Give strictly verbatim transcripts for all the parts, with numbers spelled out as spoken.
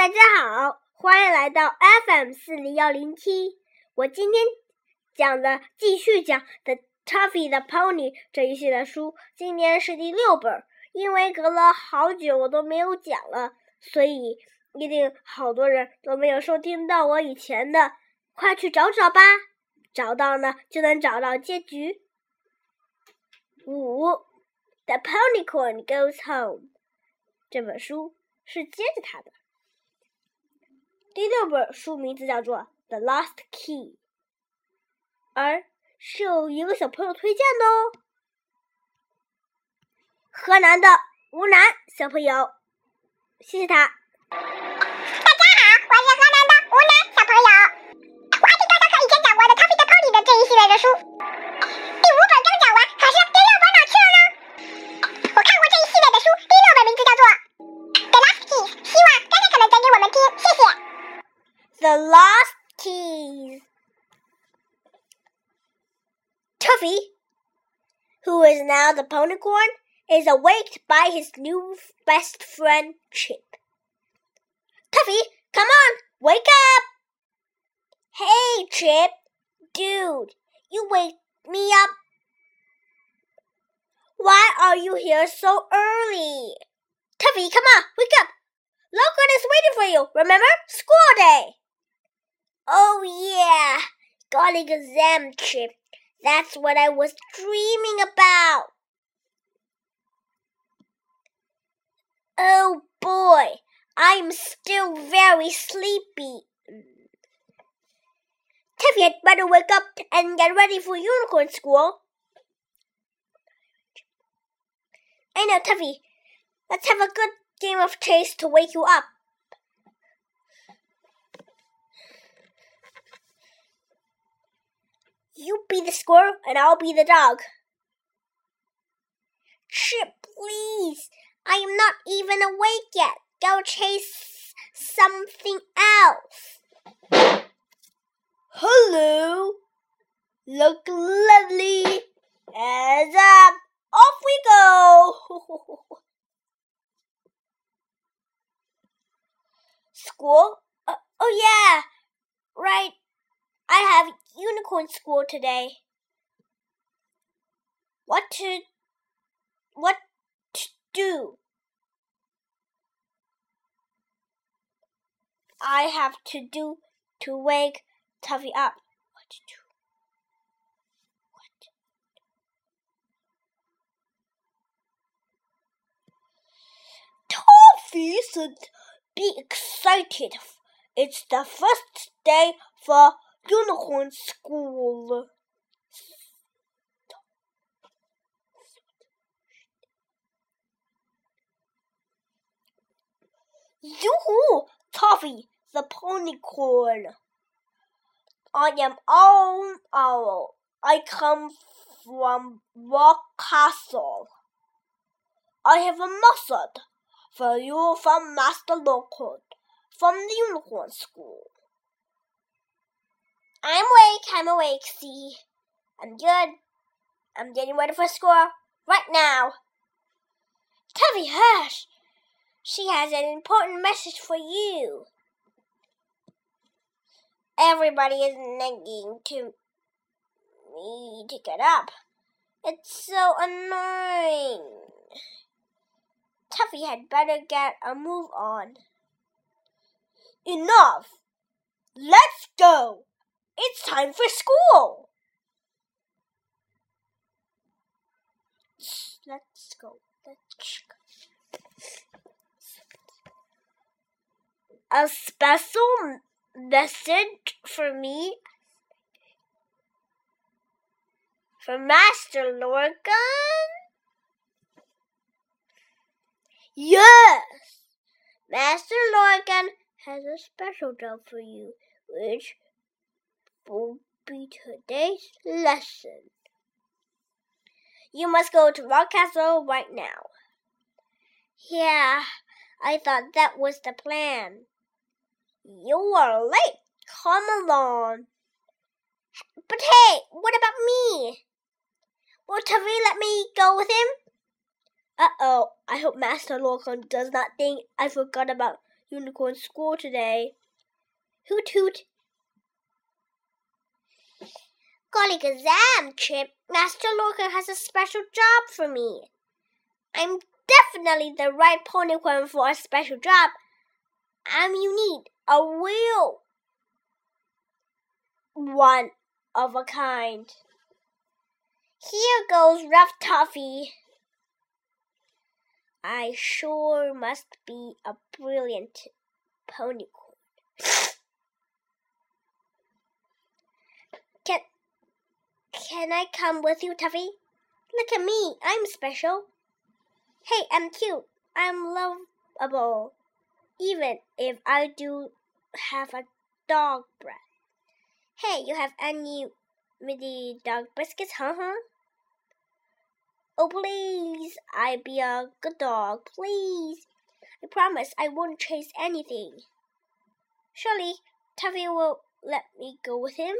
大家好，欢迎来到 F M 四零一零七。我今天讲的继续讲 The Tuffy the Pony 这一系列书，今年是第六本。因为隔了好久我都没有讲了，所以一定好多人都没有收听到我以前的，快去找找吧，找到呢就能找到结局。五 The Ponycorn Goes Home 这本书是接着它的。第六本书名字叫做 The Lost Key， 而是有一个小朋友推荐的哦，河南的吴楠小朋友，谢谢他。 大家好，我是河南的吴楠小朋友，我还挺刚刚和以前讲过的 Tuffy the Pony 的这一系列的书，第五本刚讲完，可是第六本哪去了呢？我看过这一系列的书，第六本名字叫做 The Lost Keys， 希望刚刚可能讲给我们听，谢谢。 The Lost Keys. Tuffy, who is now the Ponycorn, is awaked by his new best friend, Chip. Tuffy, come on, wake up! Hey, Chip. Dude, you wake me up. Why are you here so early? Tuffy, come on, wake up. Logan is waiting for you, remember? School day. Oh, yeah. Got an exam, Chip. That's what I was dreaming about. Oh, boy. I'm still very sleepy. Tuffy had better wake up and get ready for unicorn school. I know, Tuffy. Let's have a good game of chase to wake you up. You be the squirrel and I'll be the dog. Chip, please. I am not even awake yet. Go chase something else. Hello. Look lovely. Heads up. Off we go. School? Uh, oh, yeah. Right. I have unicorn school today. What to... What to do? I have to do to wake Tuffy up. What to do? What? Tuffy should be excited. It's the first day for unicorn school. Yoo-hoo, Tuffy the Ponycorn. I am Owl Owl. I come from Rock Castle. I have a message for you from Master Lockwood from the Unicorn School. I'm awake, I'm awake, see. I'm good. I'm getting ready for school right now. Tuffy, hush. She has an important message for you. Everybody is nagging to me to get up. It's so annoying. Tuffy had better get a move on. Enough. Let's go. It's time for school. Let's go. Let's go. A special message for me from Master Lorcan? Yes! Master Lorcan has a special job for you, which will be today's lesson. You must go to Rock Castle right now. Yeah, I thought that was the plan. You are late. Come along. But hey, what about me? Will Tuffy let me go with him? Uh-oh, I hope Master Lorcan does not think I forgot about Unicorn School today. Hoot hoot. Golly gazam, Chip. Master Lorcan has a special job for me. I'm definitely the right ponycorn for a special job. I'm unique, a real one of a kind. Here goes Rough Toffee. I sure must be a brilliant ponycorn. Can, can I come with you, Tuffy? Look at me, I'm special. Hey, I'm cute. I'm lovable. Even if I do have a dog breath. Hey, you have any mini dog biscuits, huh, huh? Oh, please, I be a good dog, please. I promise I won't chase anything. Surely, Tuffy will let me go with him?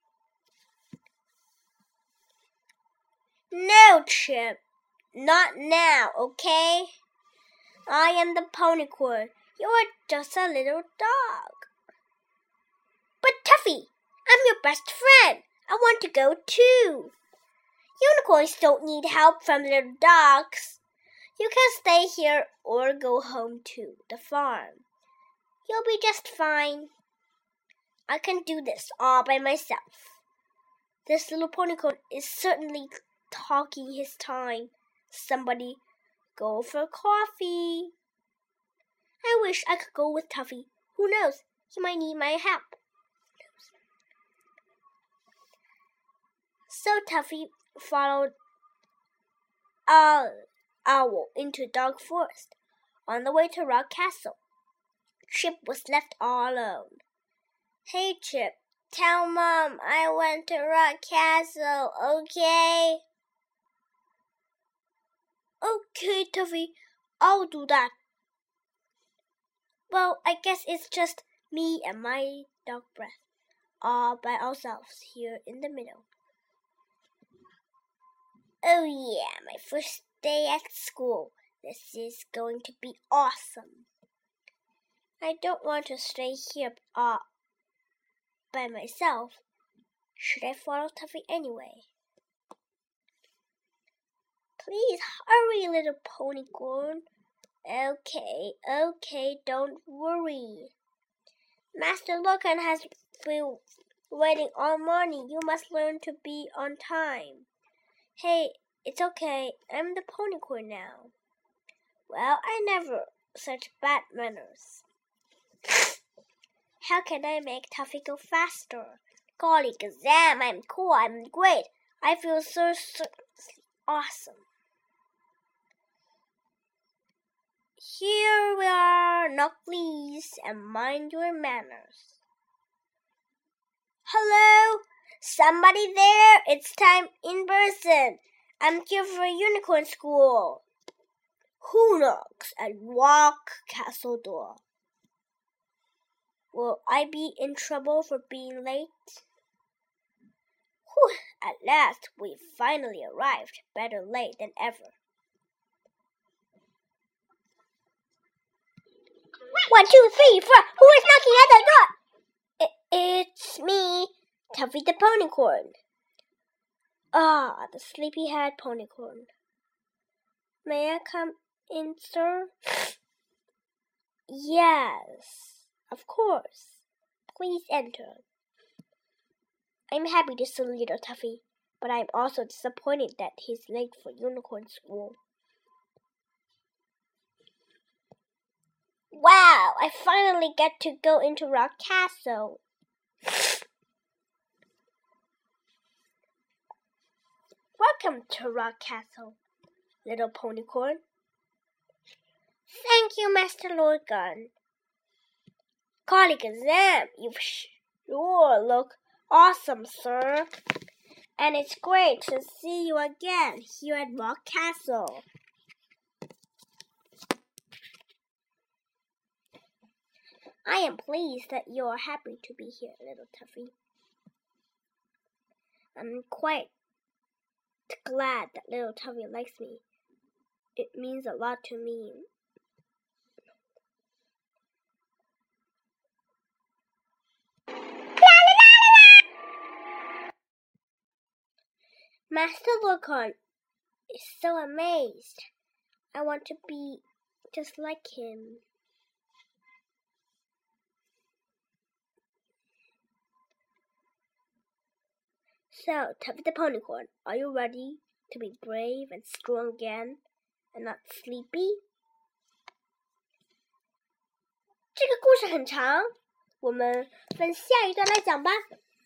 No, Chip. Not now, okay? I am the ponycorn. You're just a little dog. But Tuffy, I'm your best friend. I want to go too. Unicorns don't need help from little dogs. You can stay here or go home to the farm. You'll be just fine. I can do this all by myself. This little ponycorn is certainly talking his time. Somebody go for coffee. I wish I could go with Tuffy. Who knows? He might need my help. So Tuffy followed Owl, Owl into Dark Forest. On the way to Rock Castle, Chip was left all alone. Hey, Chip, tell Mom I went to Rock Castle, okay? Okay, Tuffy, I'll do that. Well, I guess it's just me and my dog breath, all by ourselves here in the middle. Oh yeah, my first day at school. This is going to be awesome. I don't want to stay here all by myself. Should I follow Tuffy anyway? Please hurry, little ponycorn. Okay, okay, don't worry. Master Lorcan has been waiting all morning. You must learn to be on time. Hey, it's okay. I'm the ponycorn now. Well, I never such bad manners. How can I make Tuffy go faster? Golly gazam, I'm cool, I'm great. I feel so, so awesome. Here we are, now please, and mind your manners. Hello? Somebody there? It's time in person. I'm here for Unicorn School. Who knocks at Rock Castle door? Will I be in trouble for being late? Whew, at last we finally arrived. Better late than ever. One, two, three, four. Who is knocking at the door? It, it's me, Tuffy the Ponycorn. Ah, the sleepy-head ponycorn. May I come in, sir? Yes, of course. Please enter. I'm happy to see little Tuffy, but I'm also disappointed that he's late for Unicorn School. Wow, I finally get to go into Rock Castle. Welcome to Rock Castle, little ponycorn. Thank you, Master Lorcan. Golly gazam, you sure look awesome, sir. And it's great to see you again here at Rock Castle. I am pleased that you are happy to be here, little Tuffy. I'm quite glad that little Tuffy likes me. It means a lot to me. Master Lorcan is so amazed. I want to be just like him. So, Tuffy the Ponycorn, are you ready to be brave and strong again and not sleepy? 这个故事很长，我们分下一段来讲吧。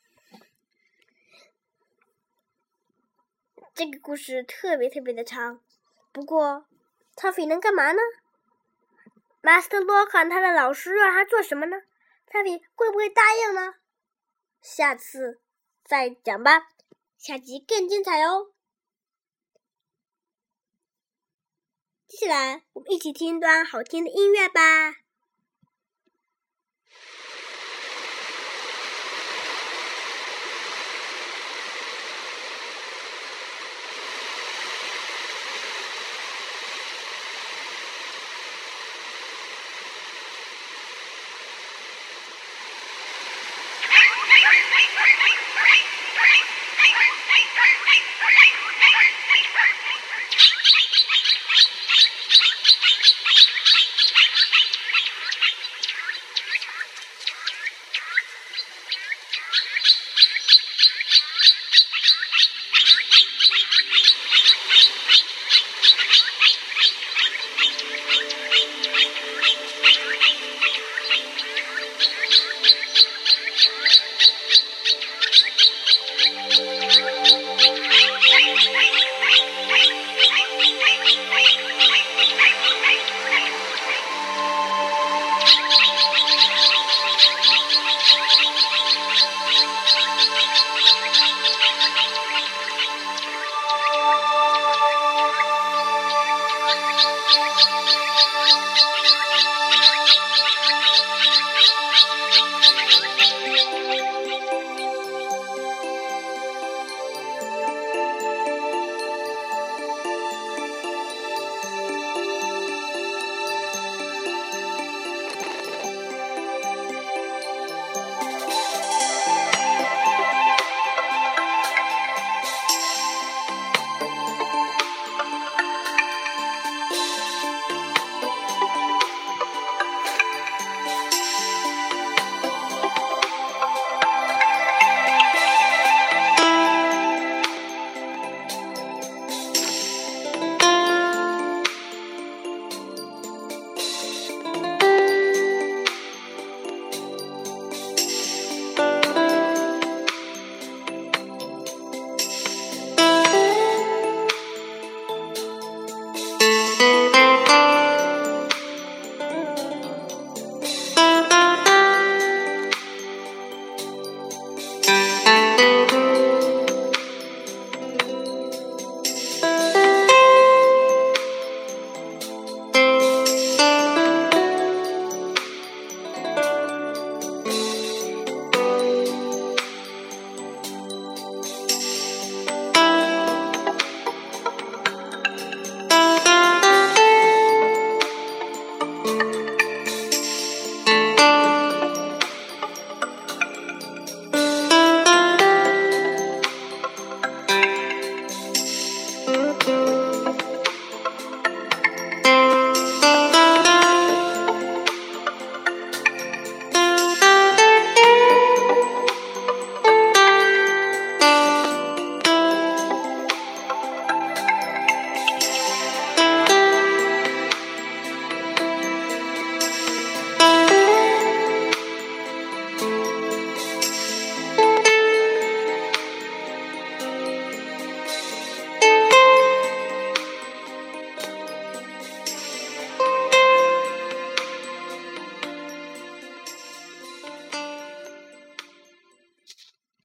这个故事特别特别的长，不过 Tuffy 能干嘛呢？ Master Lorcan 他的老师让他做什么呢？ Tuffy 会不会答应呢？下次再讲吧，下集更精彩哦。接下来我们一起听一段好听的音乐吧。